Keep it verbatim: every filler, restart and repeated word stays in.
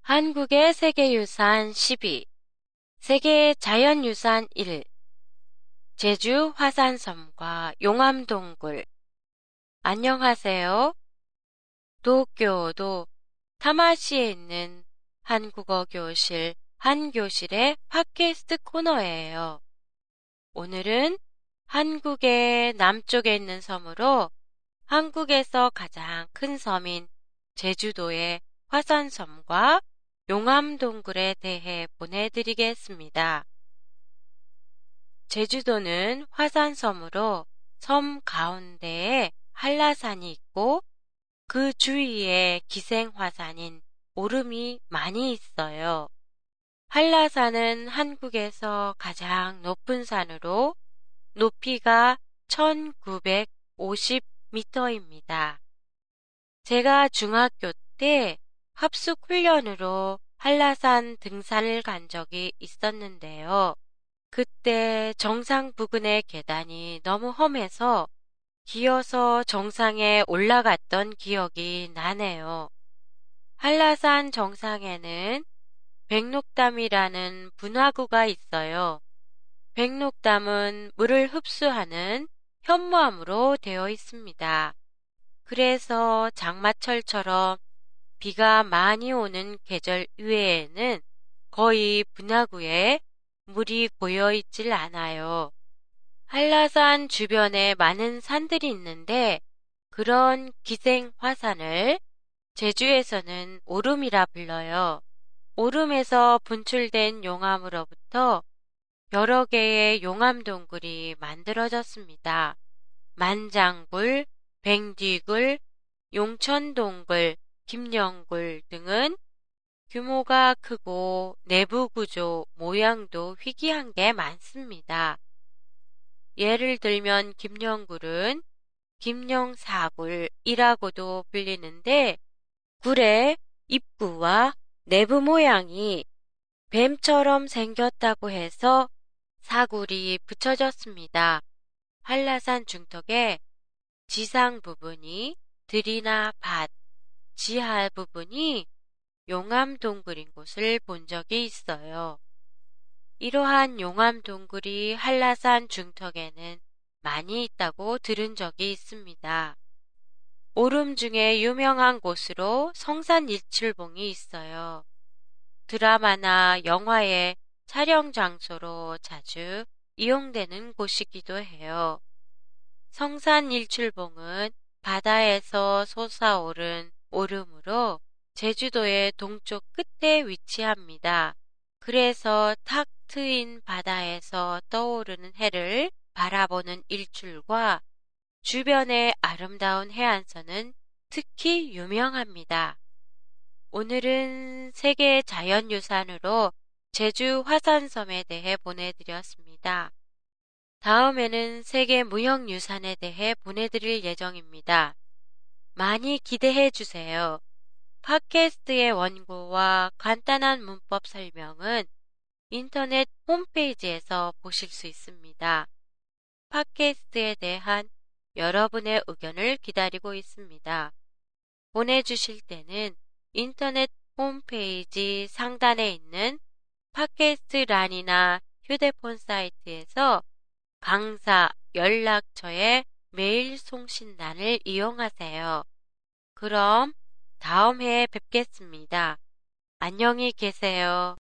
한국의 세계유산 십이, 세계 자연유산 일, 제주 화산섬과 용암동굴. 안녕하세요. 도쿄도 타마시에 있는 한국어 교실 한교실의 팟캐스트 코너예요. 오늘은 한국의 남쪽에 있는 섬으로 한국에서 가장 큰 섬인 제주도의 화산섬과 용암동굴에 대해 보내드리겠습니다. 제주도는 화산섬으로 섬 가운데에 한라산이 있고 그 주위에 기생화산인 오름이 많이 있어요. 한라산은 한국에서 가장 높은 산으로 높이가 천구백오십 미터입니다. 제가 중학교 때 합숙 훈련으로 한라산 등산을 간 적이 있었는데요. 그때 정상 부근의 계단이 너무 험해서 기어서 정상에 올라갔던 기억이 나네요. 한라산 정상에는 백록담이라는 분화구가 있어요. 백록담은 물을 흡수하는 현무암으로 되어 있습니다. 그래서 장마철처럼 비가 많이 오는 계절 이외에는 거의 분화구에 물이 고여 있질 않아요. 한라산 주변에 많은 산들이 있는데 그런 기생 화산을 제주에서는 오름이라 불러요. 오름에서 분출된 용암으로부터 여러 개의 용암동굴이 만들어졌습니다. 만장굴, 뱅디굴, 용천동굴, 김영굴 등은 규모가 크고 내부 구조, 모양도 희귀한 게 많습니다. 예를 들면 김영굴은 김영사굴이라고도 불리는데 굴의 입구와 내부 모양이 뱀처럼 생겼다고 해서 사굴이 붙여졌습니다. 한라산 중턱에 지상 부분이 들이나 밭, 지하 부분이 용암동굴인 곳을 본 적이 있어요. 이러한 용암동굴이 한라산 중턱에는 많이 있다고 들은 적이 있습니다. 오름 중에 유명한 곳으로 성산일출봉이 있어요. 드라마나 영화의 촬영 장소로 자주 이용되는 곳이기도 해요. 성산일출봉은 바다에서 솟아오른 오름으로 제주도의 동쪽 끝에 위치합니다. 그래서 탁 트인 바다에서 떠오르는 해를 바라보는 일출과 주변의 아름다운 해안선은 특히 유명합니다. 오늘은 세계 자연유산으로 제주 화산섬에 대해 보내드렸습니다. 다음에는 세계 무형유산에 대해 보내드릴 예정입니다. 많이 기대해 주세요. 팟캐스트의 원고와 간단한 문법 설명은 인터넷 홈페이지에서 보실 수 있습니다. 팟캐스트에 대한 여러분의 의견을 기다리고 있습니다. 보내주실 때는 인터넷 홈페이지 상단에 있는 팟캐스트 란이나 휴대폰 사이트에서 강사 연락처의 메일 송신란을 이용하세요. 그럼 다음 해에 뵙겠습니다. 안녕히 계세요.